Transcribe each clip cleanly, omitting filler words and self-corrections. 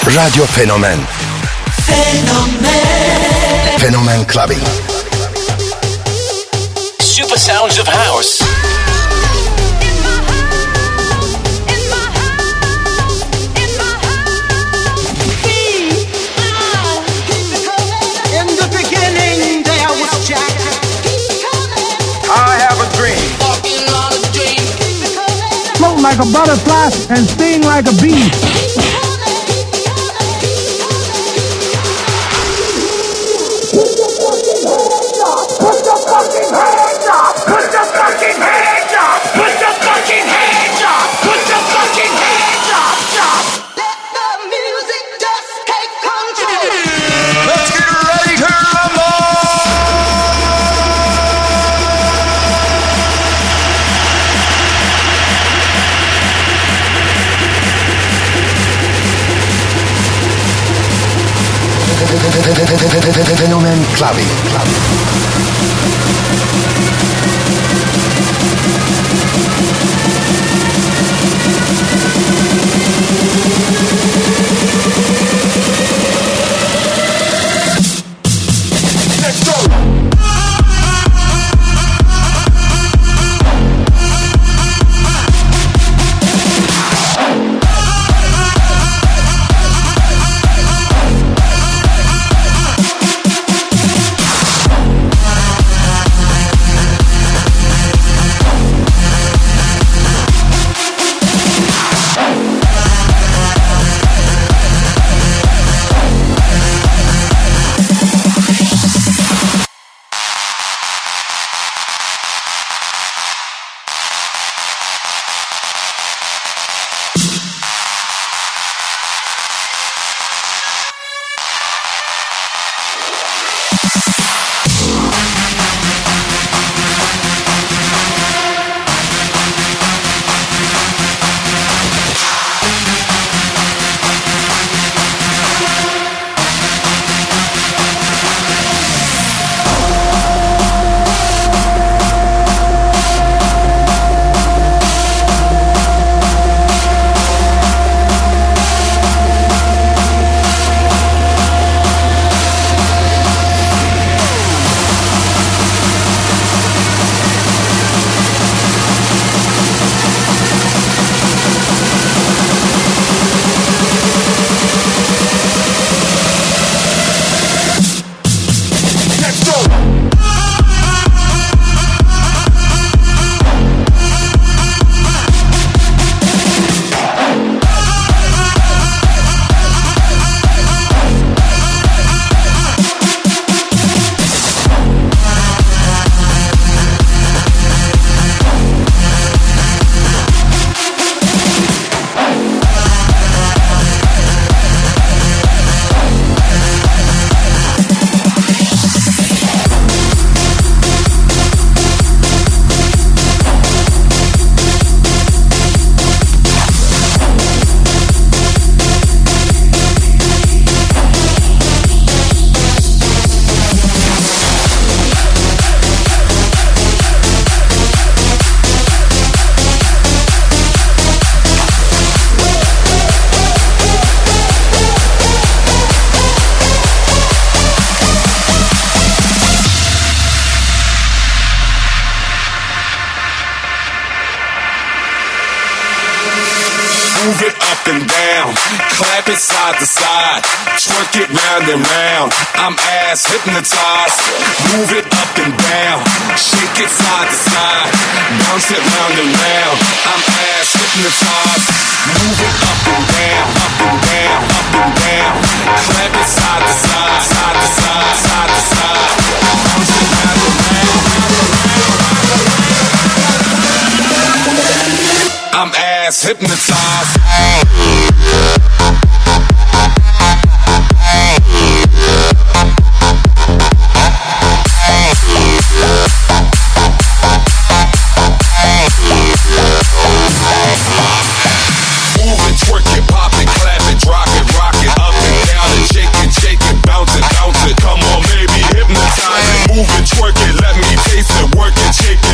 Radyo Fenomen. Fenomen Clubbing. Super sounds of house. Float like a butterfly and sting like a bee. Put your fucking hands up! Put your fucking hands up! Put your fucking hands up! Put your fucking hands up! Let the music just take control. Let's get ready to rumble! Fenomen Clubbing. Let's go! Move it up and down, clap it side to side, twerk it round and round. I'm ass hypnotized. Move it up and down, shake it side to side, bounce it round and round. I'm ass hypnotized. Move it up and down, up and down, up and down, clap it side to side, side to side, side to side, bounce it round and round, round and round. I'm ass hypnotized.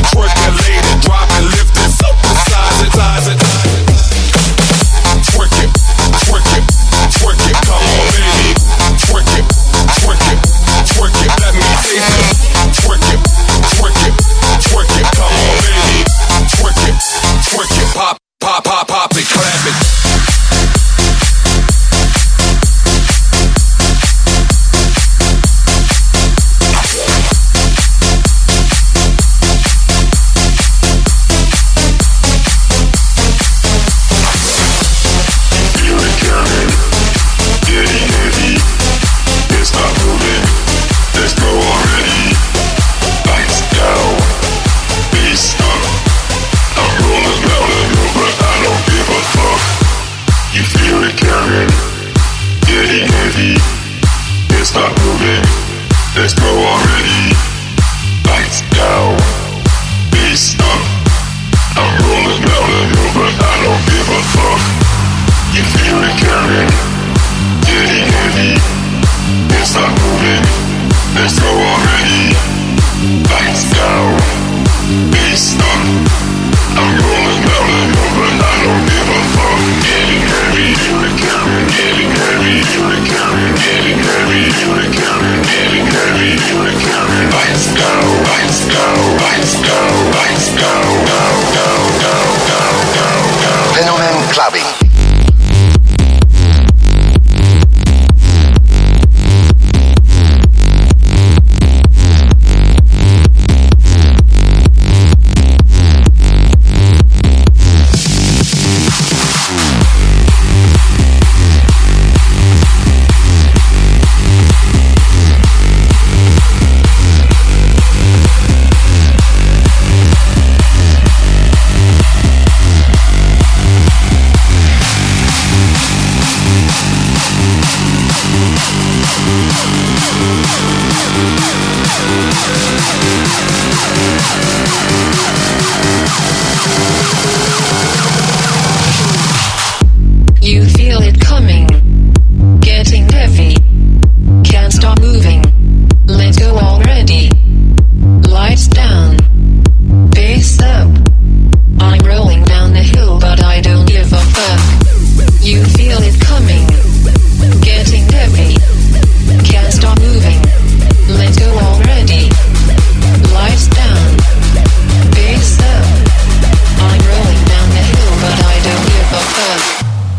Twerk it, it carrying, getting heavy. Can't stop moving. Let's go already. Lights down, bass up. I'm rolling down the hill, but I don't give a fuck. You feel it carrying, getting heavy. Can't stop moving. Let's go already. Lights down, bass up. I'm rolling down the hill, but I don't give a fuck. Getting heavy, feel it carrying, getting heavy, feel it carrying, getting heavy, feel it carrying, getting heavy, feel it carrying. Lights down, lights down, lights down, lights down, down, down, down, down, down, down. Fenomen Clubbing. You feel it coming, getting heavy, can't stop moving, let's go already. Lights down, bass up, I'm rolling down the hill but I don't give a fuck. You feel it coming, getting heavy, can't stop moving, let's go already. Lights down, bass up, I'm rolling down the hill but I don't give a fuck.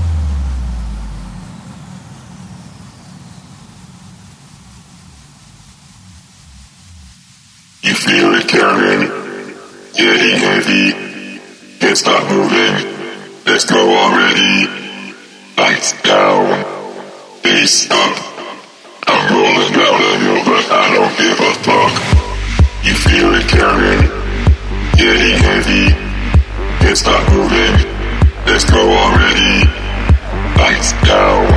You feel it carrying, getting heavy. Can't stop moving. Let's go already. Lights down, bass up. I'm rolling down the hill, but I don't give a fuck. You feel it carrying, getting heavy. Can't stop moving. Let's go already. Lights down,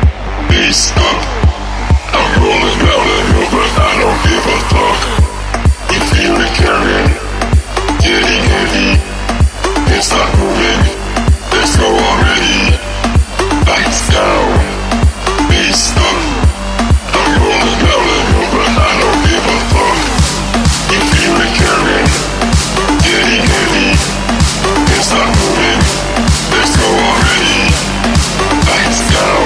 bass up. I'm rolling down the hill, but I don't give a fuck. You feel it carrying, getting heavy. Can't stop moving. Let's go already. Lights down, bass up. I'm rolling down the hill, but I don't give a fuck. You feel it carrying, getting heavy. Can't stop moving. Let's go already. Lights down,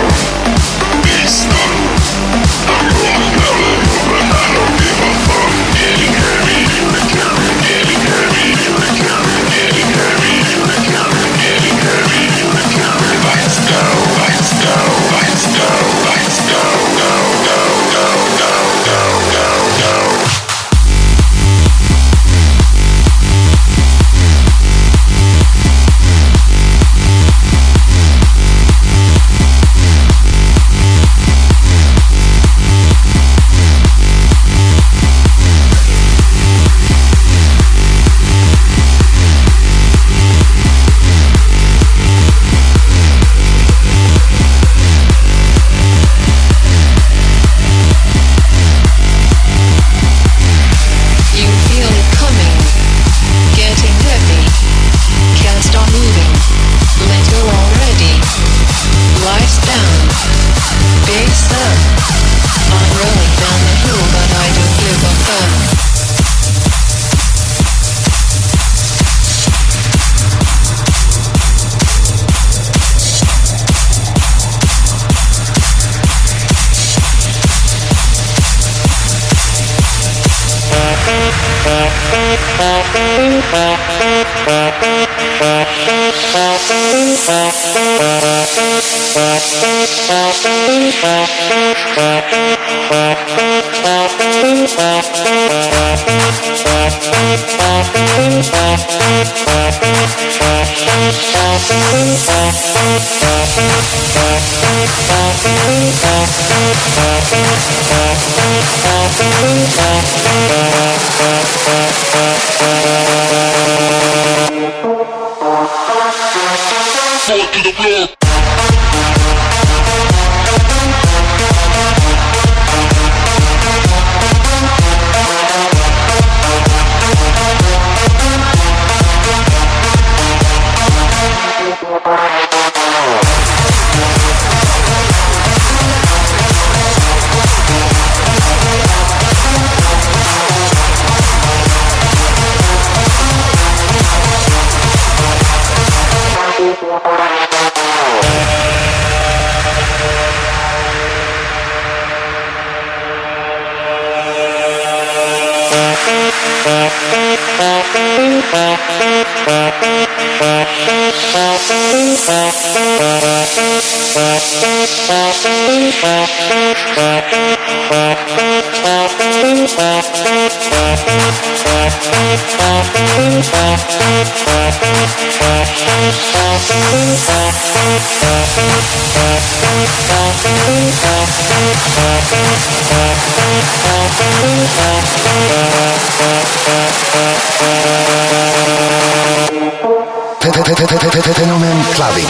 bass up. I'm rolling down the hill, but I don't give a fuck. Getting heavy, feel it carrying, getting heavy, feel it carrying, getting heavy, feel it carrying, getting heavy, feel it carrying. Lights down, lights down, lights down, lights down, down, down, down, down, down, down, down. Fall to the floor. Fenomen Clubbing.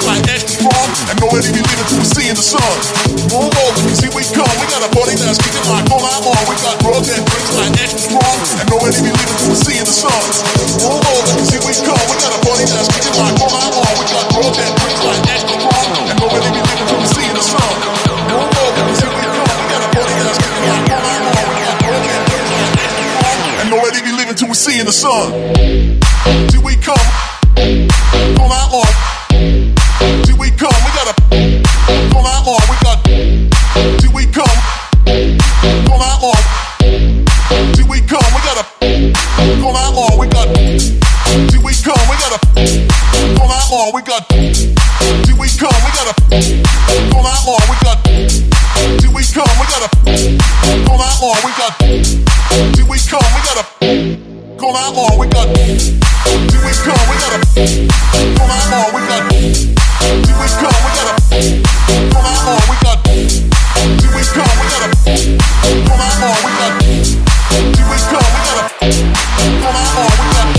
drinks like extra strong, and nobody be leaving till we see in the sun. Move over, cause here we come. We got a party that's kicking like all night long. We got drugs and drinks like extra strong, and nobody be leaving till we see in the sun. Move over, cause here we come. We got a party that's kicking like all night long. We got drugs and drinks like extra strong, and nobody be leaving till we see in the sun. Move over, cause here we come. We got a party that's kicking like all night long. We got drugs and drinks like extra strong, and nobody be leaving till we see in the sun. Here we come. All night long. Here we come. We got a all night long. We got. Here we come. All night long. Here we come. We got a all night long. We got. Here we come. We got a all night long. We got. Here we come. We got a all night long. We got. Here we come. We got a all night long. We got. Here we come. We got a all night long. We got. Here we come. We got a all night long. We got. Here we come. We got a all night long. We got. Here we come. We got a all night long. We got. Here we come. We got a all night long. We got.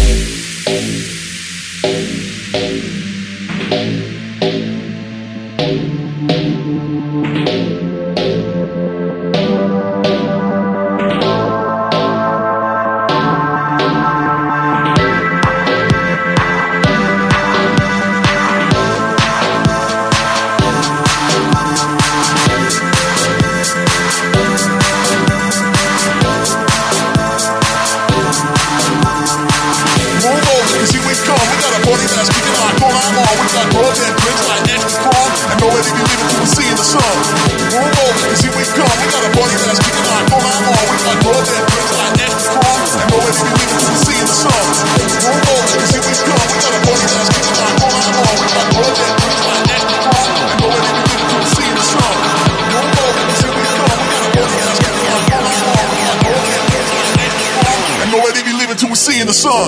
In the sun.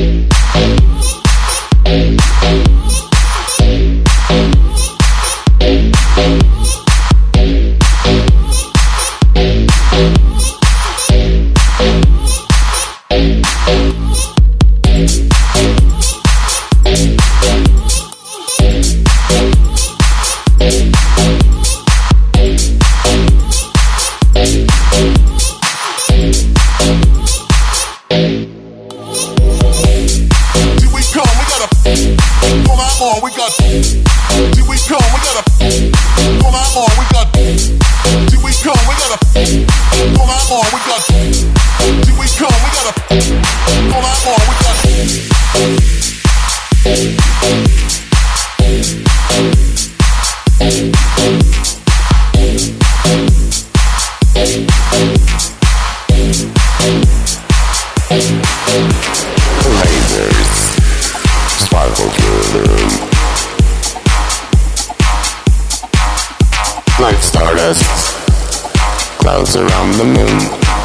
Like stardust, clouds around the moon.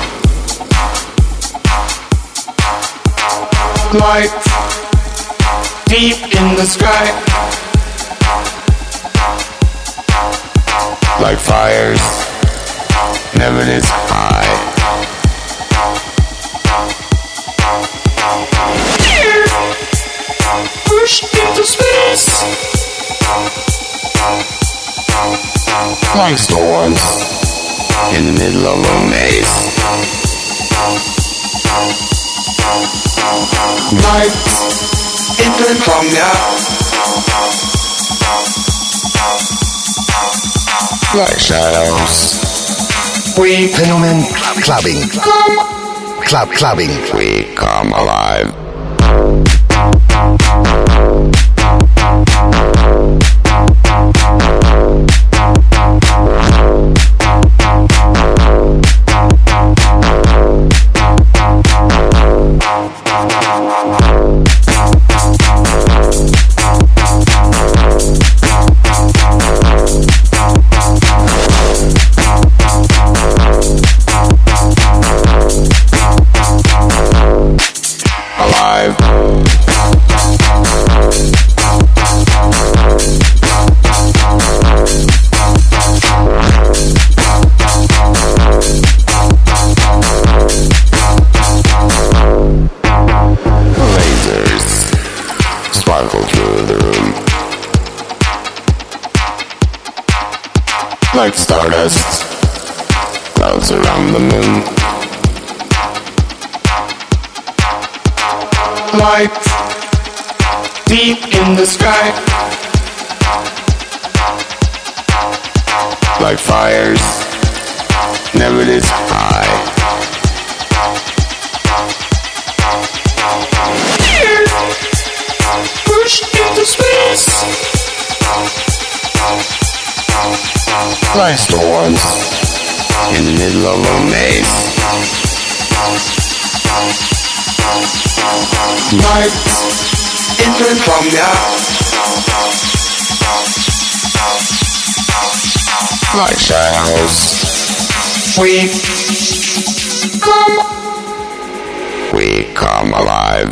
Light deep in the sky, like fires, never this high. Push into space, like storms in the middle of a maze. Lights into insomnia, like shadows. We Fenomen clubbing. Clubbing. We come alive. Alive. like stardust, clouds around the moon. Light deep in the sky, like fires never this high. Here, push into space, like storms in the middle of a maze. Light entering from the like shadows. We come alive.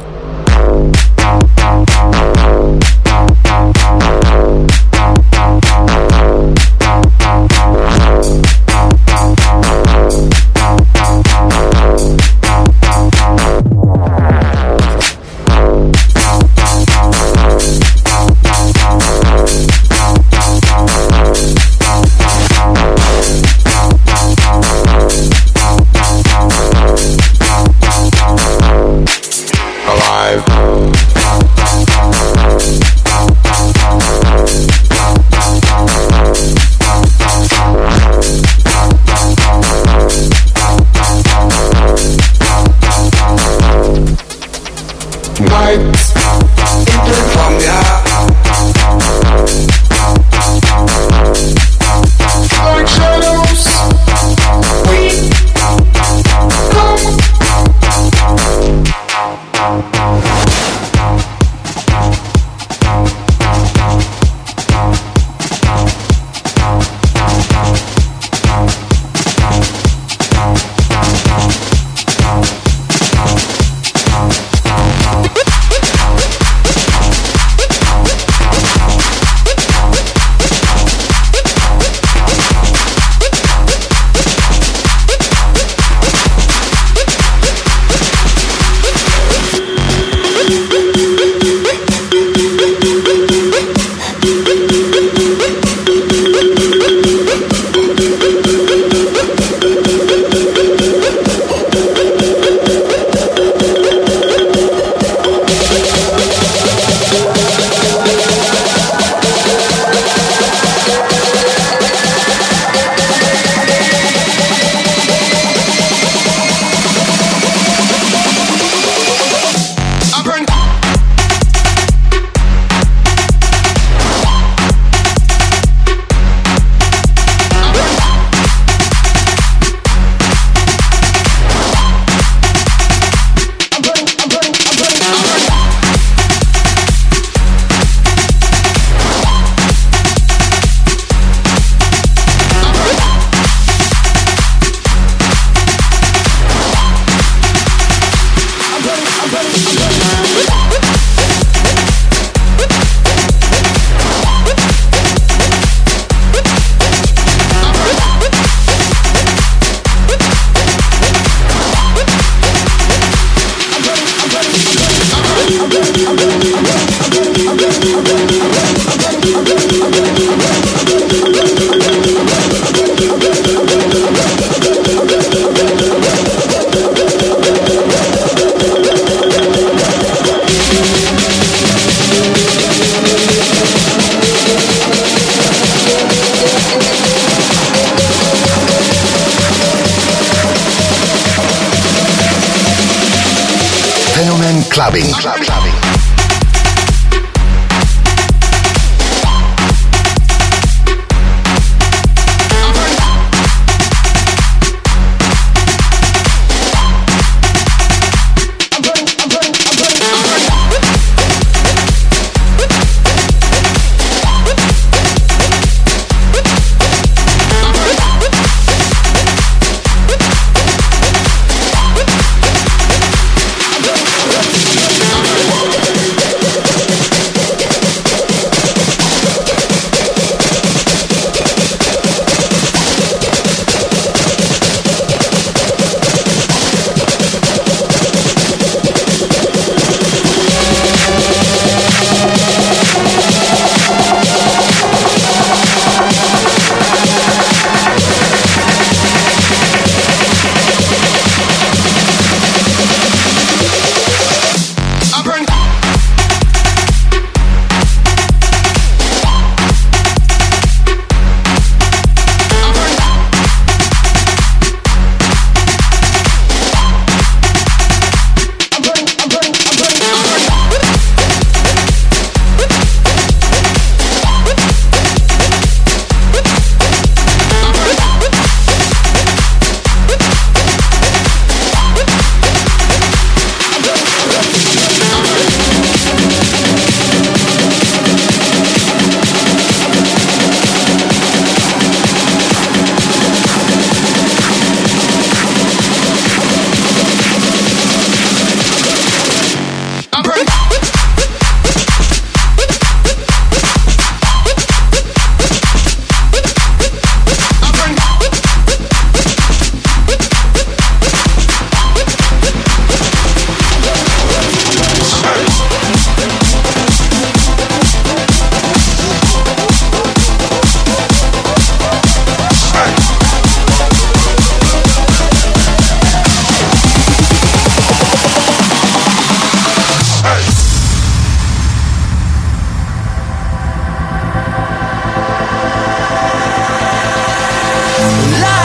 Clubbing.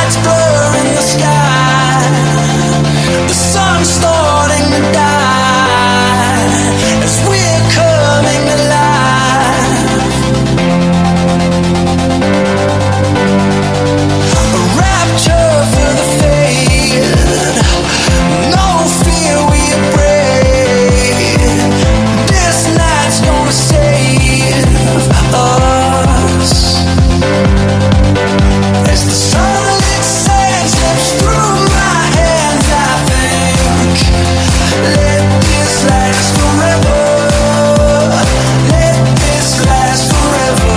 lights blur in the sky. The sun's starting to die as we're coming alive. A rapture for the faded. No fear we are brave. This night's gonna save us. As the sunlit sand slips through my hands, I think, let this last forever. Let this last forever.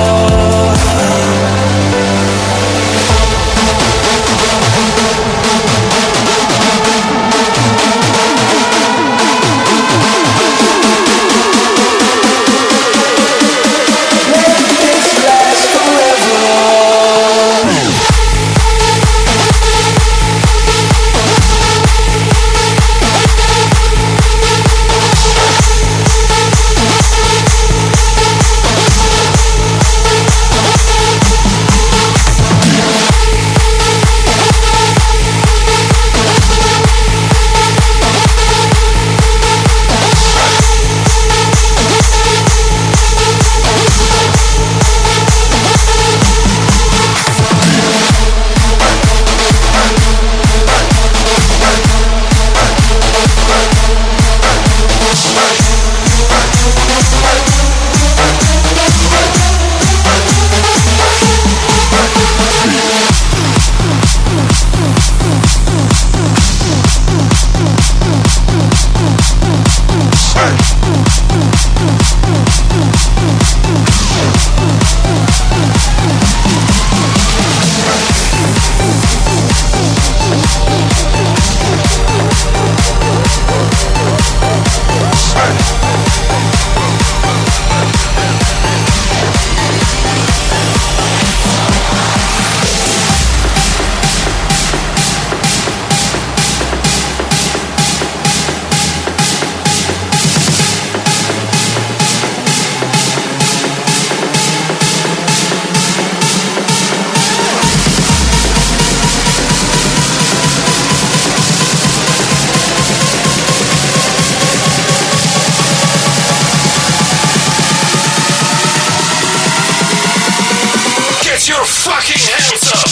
Your fucking hands up!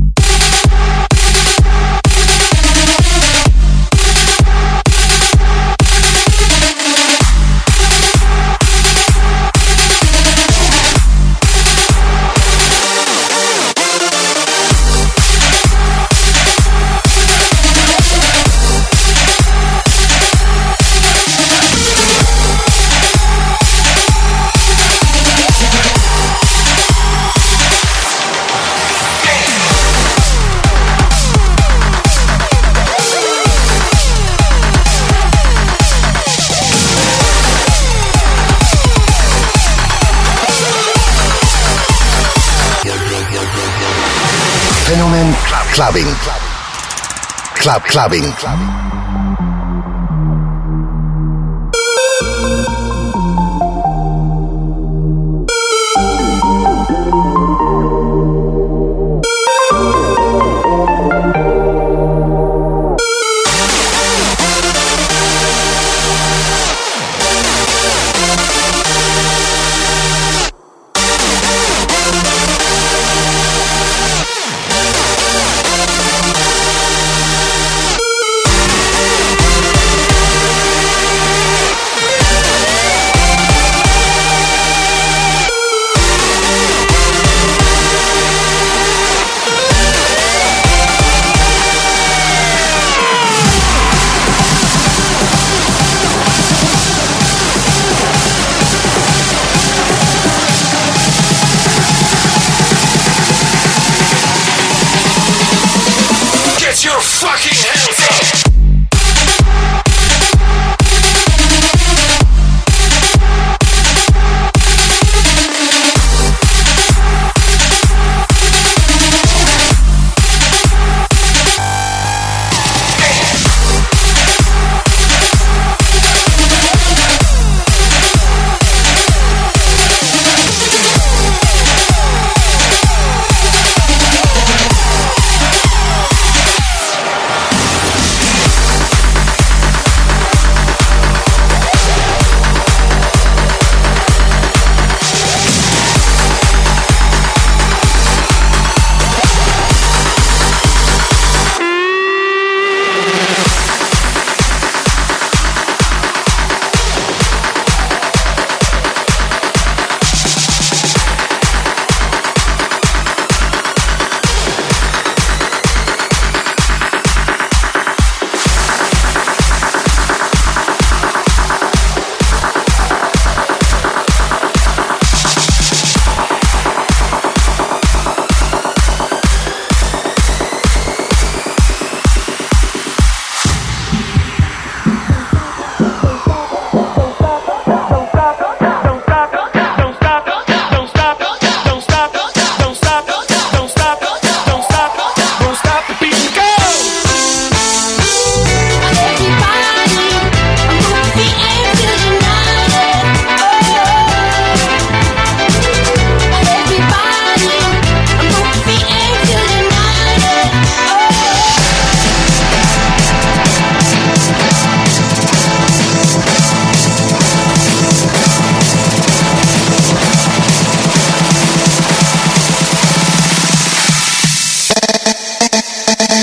Fenomen Clubbing. Clubbing.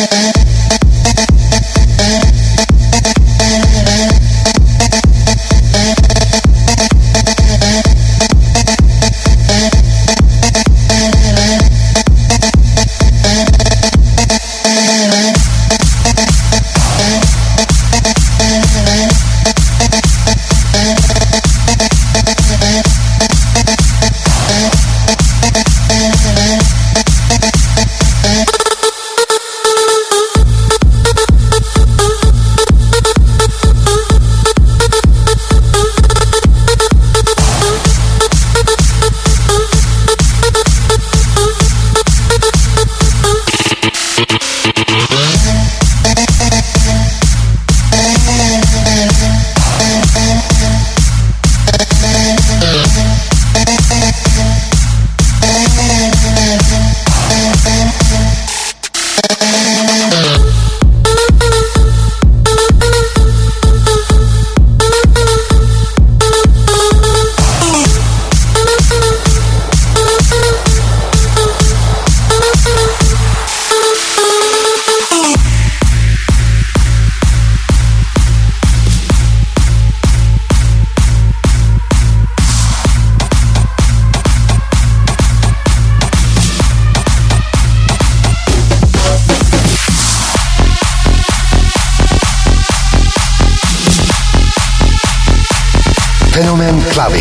Fenomen Clubbing.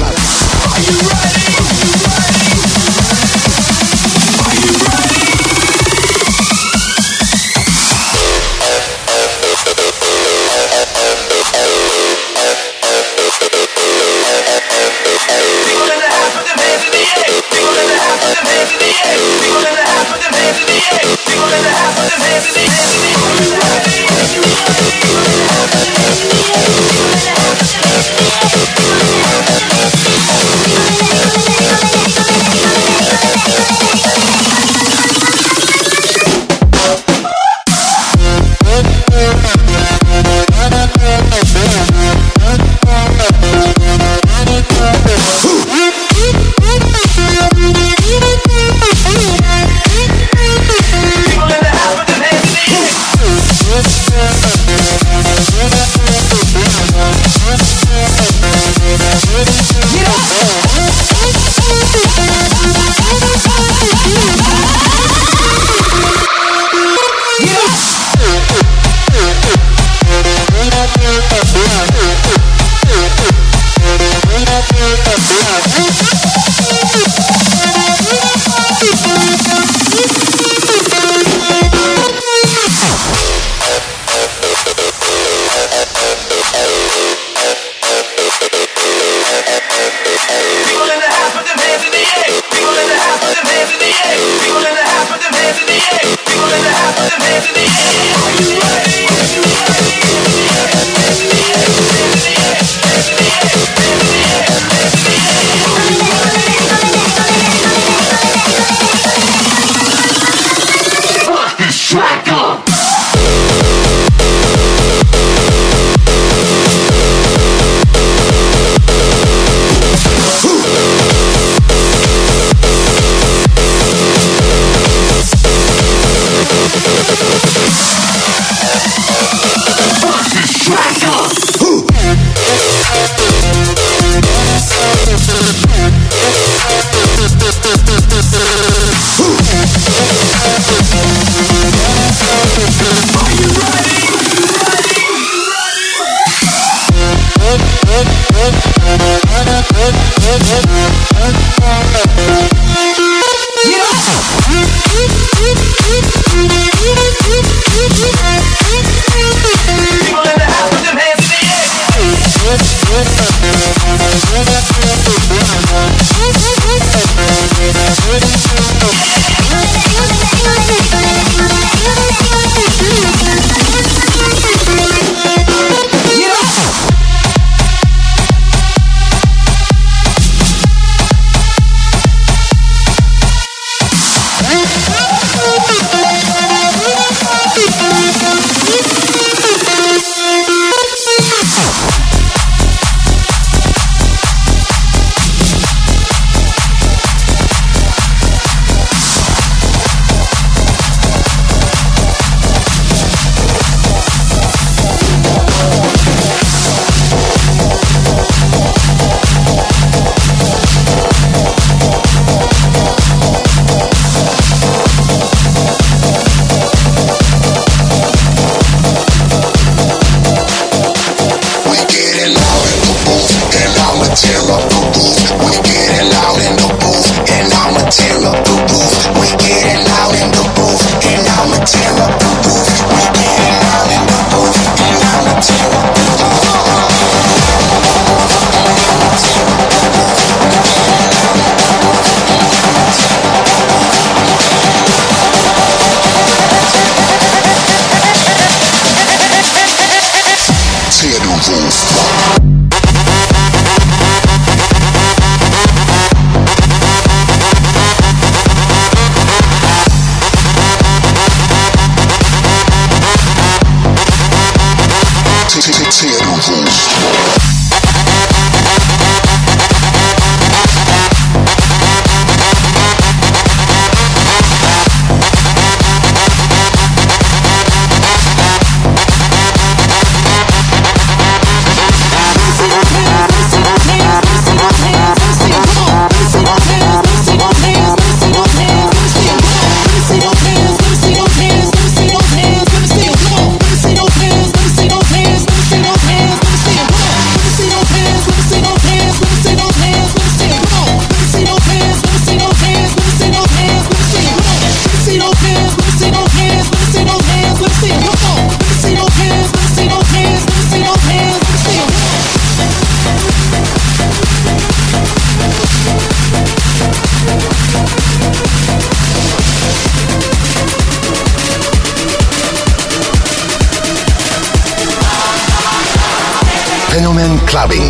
clubbing.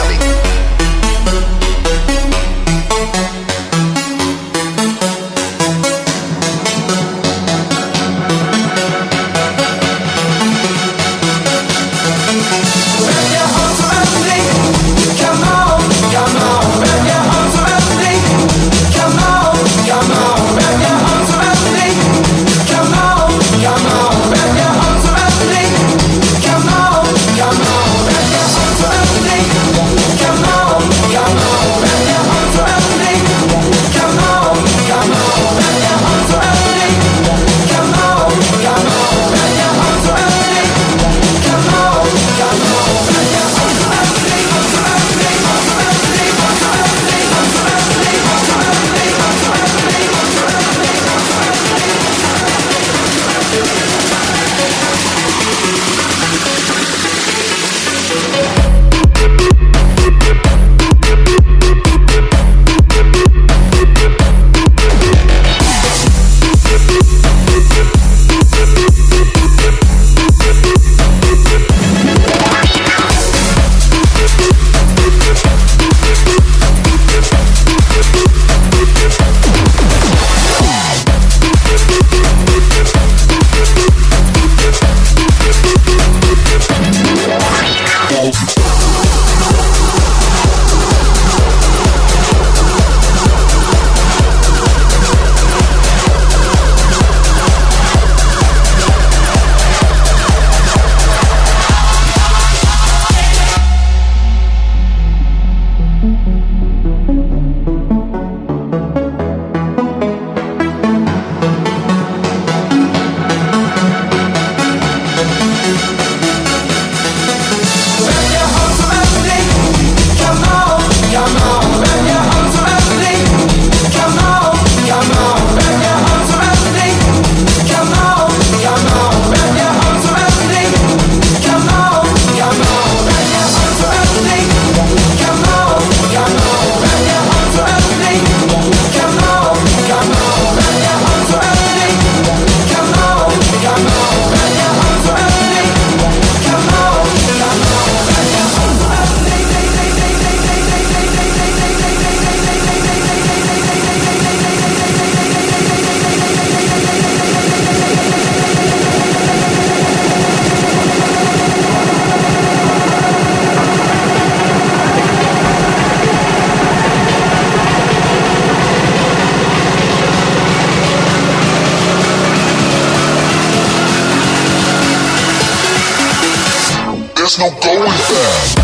There's no going back.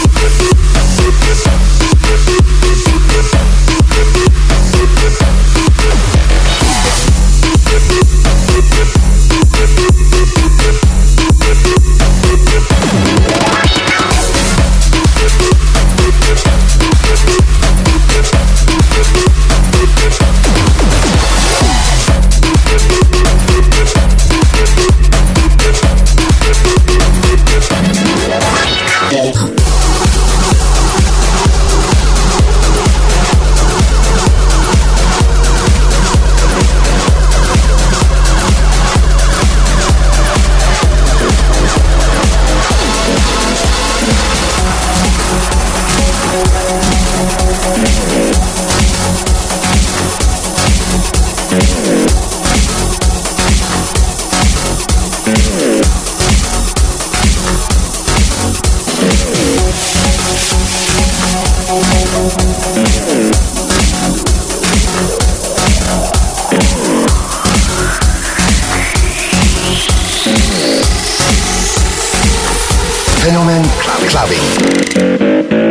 Fenomen Clubbing.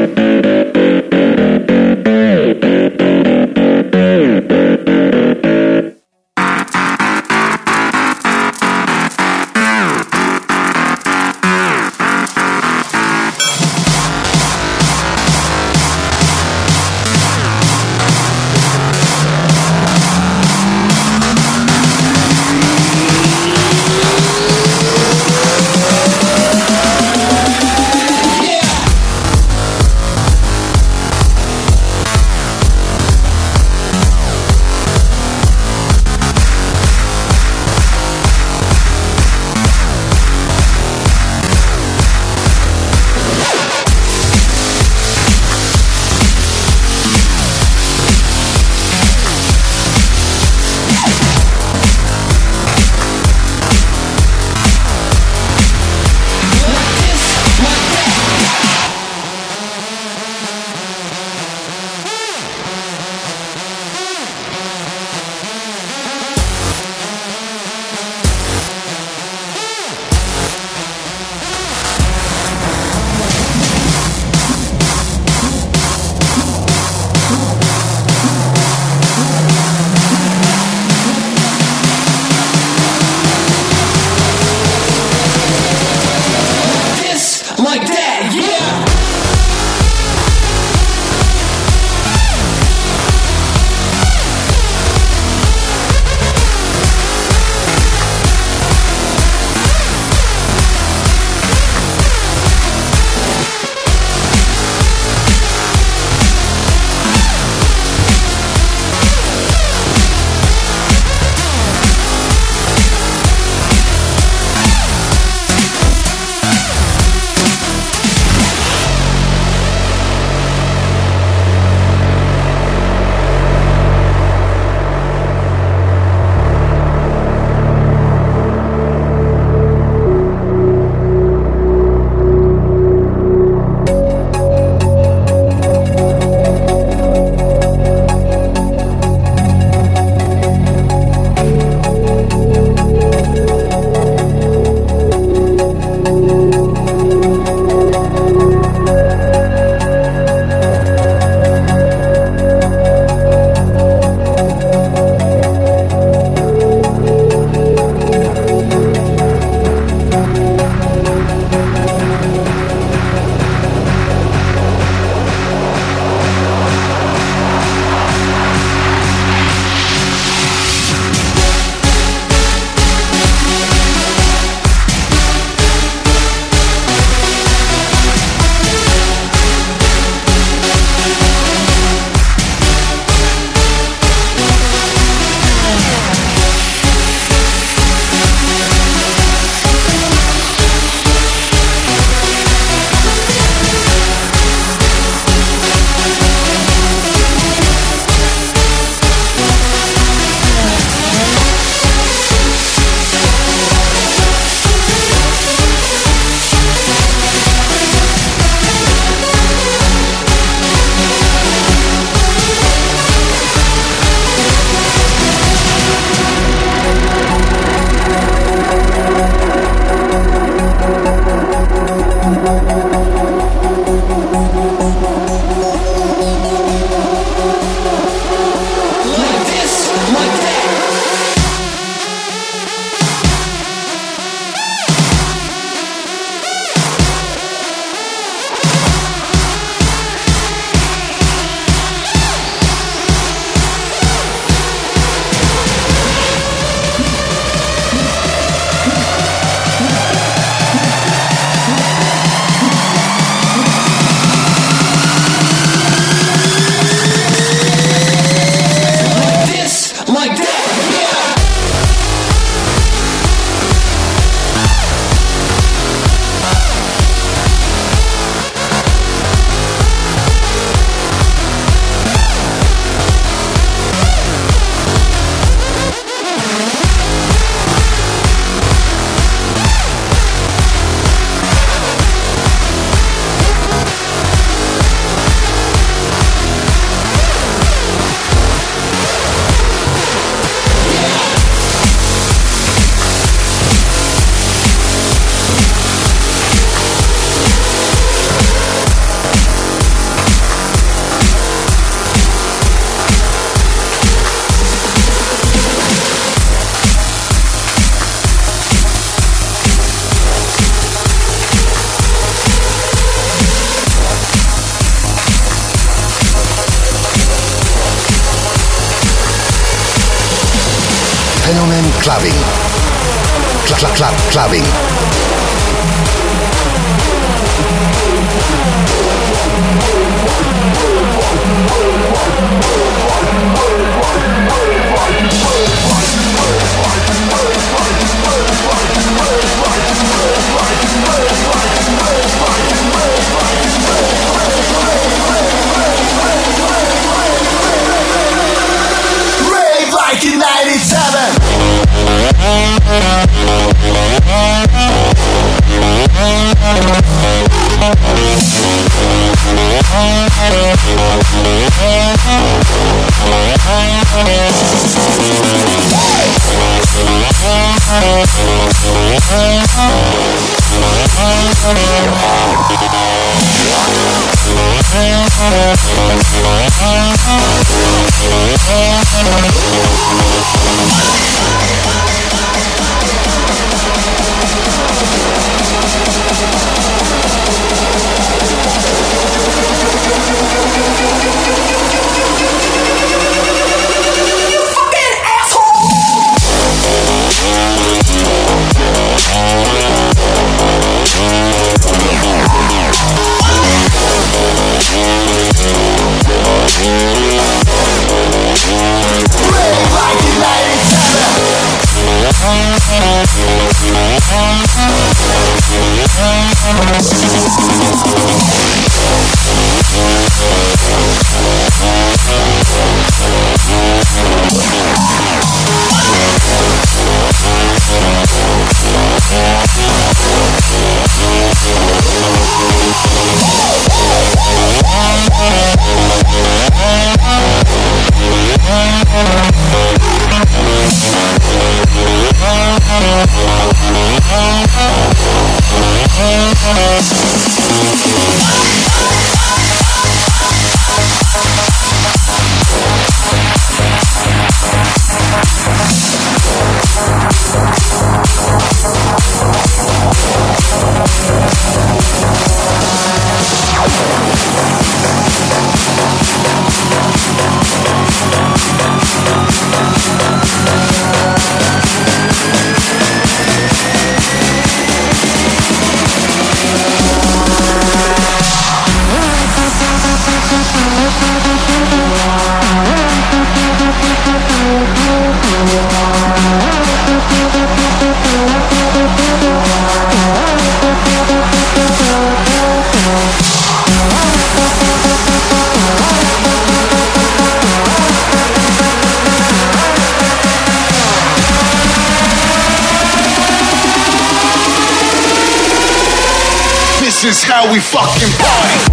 Yeah. Fenomen Clubbing. Clubbing. Rave like in 97. This is how we fucking party.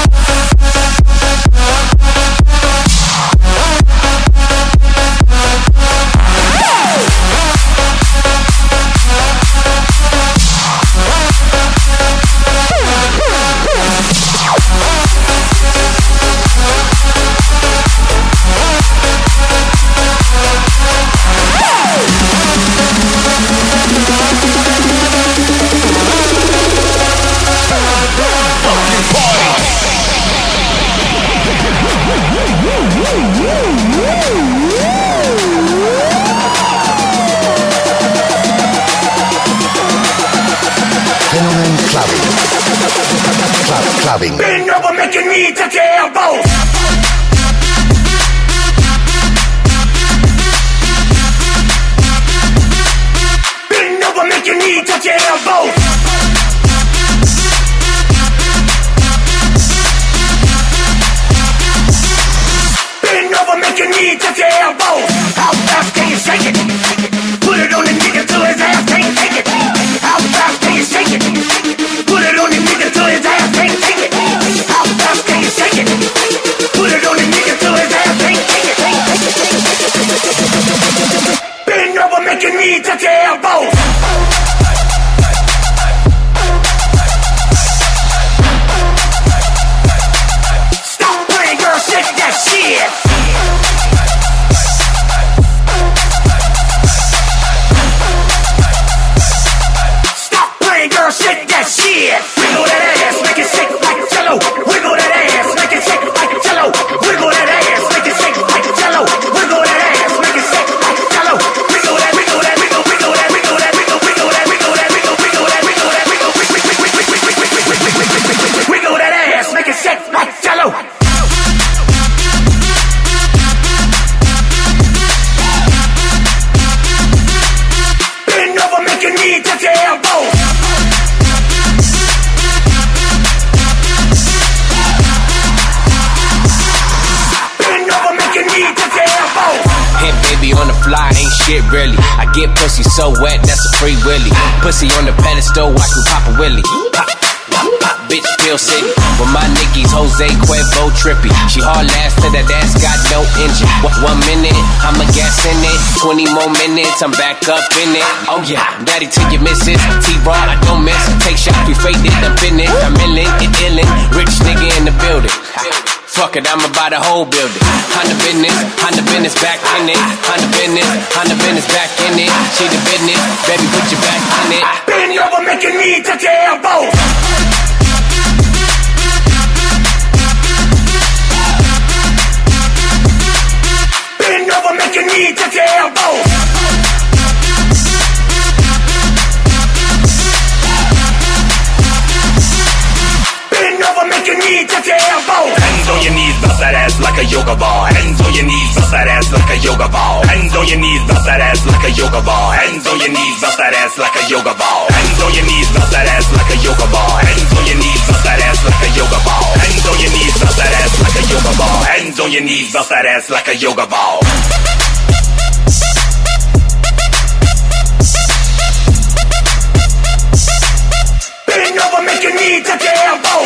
Clubbing. Bend over, make your knee touch your elbows. Bend over, make your knee touch your elbows. Bend over, make your knee touch your elbows. How fast can you shake it? Put it on the nigga till his ass can't take it. How fast can you shake it? Put it on the nigga till his ass can't take it. How fast can you shake it? Put it on the nigga till his ass can't take it. Bend over, make your knee touch your elbows. Stop playing, girl, shake that shit. Girl, shake that shit. Wiggle that ass, make it shake like a cello. Wiggle that ass, make it shake like a cello. Wiggle that ass, make it shake like a cello. Wiggle that ass, make it shake like a cello. Wiggle that shit really. I get pussy so wet, that's a free willy. Pussy on the pedestal, watch me pop a willy. Pop, pop, pop, bitch, Pill City. With my Nickies, Jose Cuervo trippy. She hard last till that ass got no engine. 1 minute, I'ma gas in it. 20 more minutes, I'm back up in it. Oh yeah, daddy till you miss it. T-Raw, I don't miss. Take shots, we faked it, I'm finished. I'm illin', rich nigga in the building. Fuck it, I'ma buy the whole building. On the business, back in it. On the business, back in it. She the business, baby, put your back in it. Bend you over, make your knee touch your elbows. Bend over, make your knee touch your elbows. Bend over, make your knee touch your elbows. Hands on your knees, bounce that ass like a yoga ball. Hands on your knees, bounce that ass like a yoga ball. Hands on your knees, bounce that ass like a yoga ball. Hands on your knees, bounce that ass like a yoga ball. Hands on your knees, bounce that ass like a yoga ball. Hands on your knees, bounce that ass like a yoga ball. Hands on your knees, bounce that ass like a yoga ball. Hands on your knees, bounce that ass like a yoga ball. Bend over, make your knee touch your elbows.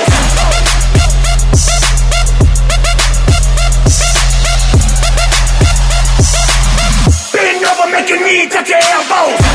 Bend over, make your knee touch your elbows.